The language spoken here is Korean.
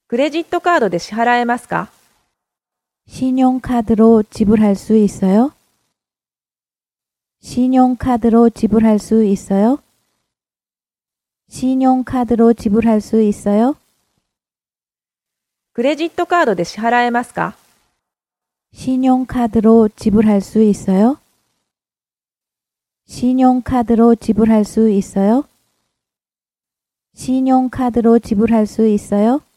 クレジットカードで支払えますか？ 신용카드로 지불할 수 있어요? 신용카드로 지불할 수 있어요? 신용카드로 지불할 수 있어요? クレジットカードで支払えますか？ 신용카드로 지불할 수 있어요? 신용카드로 지불할 수 있어요? 신용카드로 지불할 수 있어요?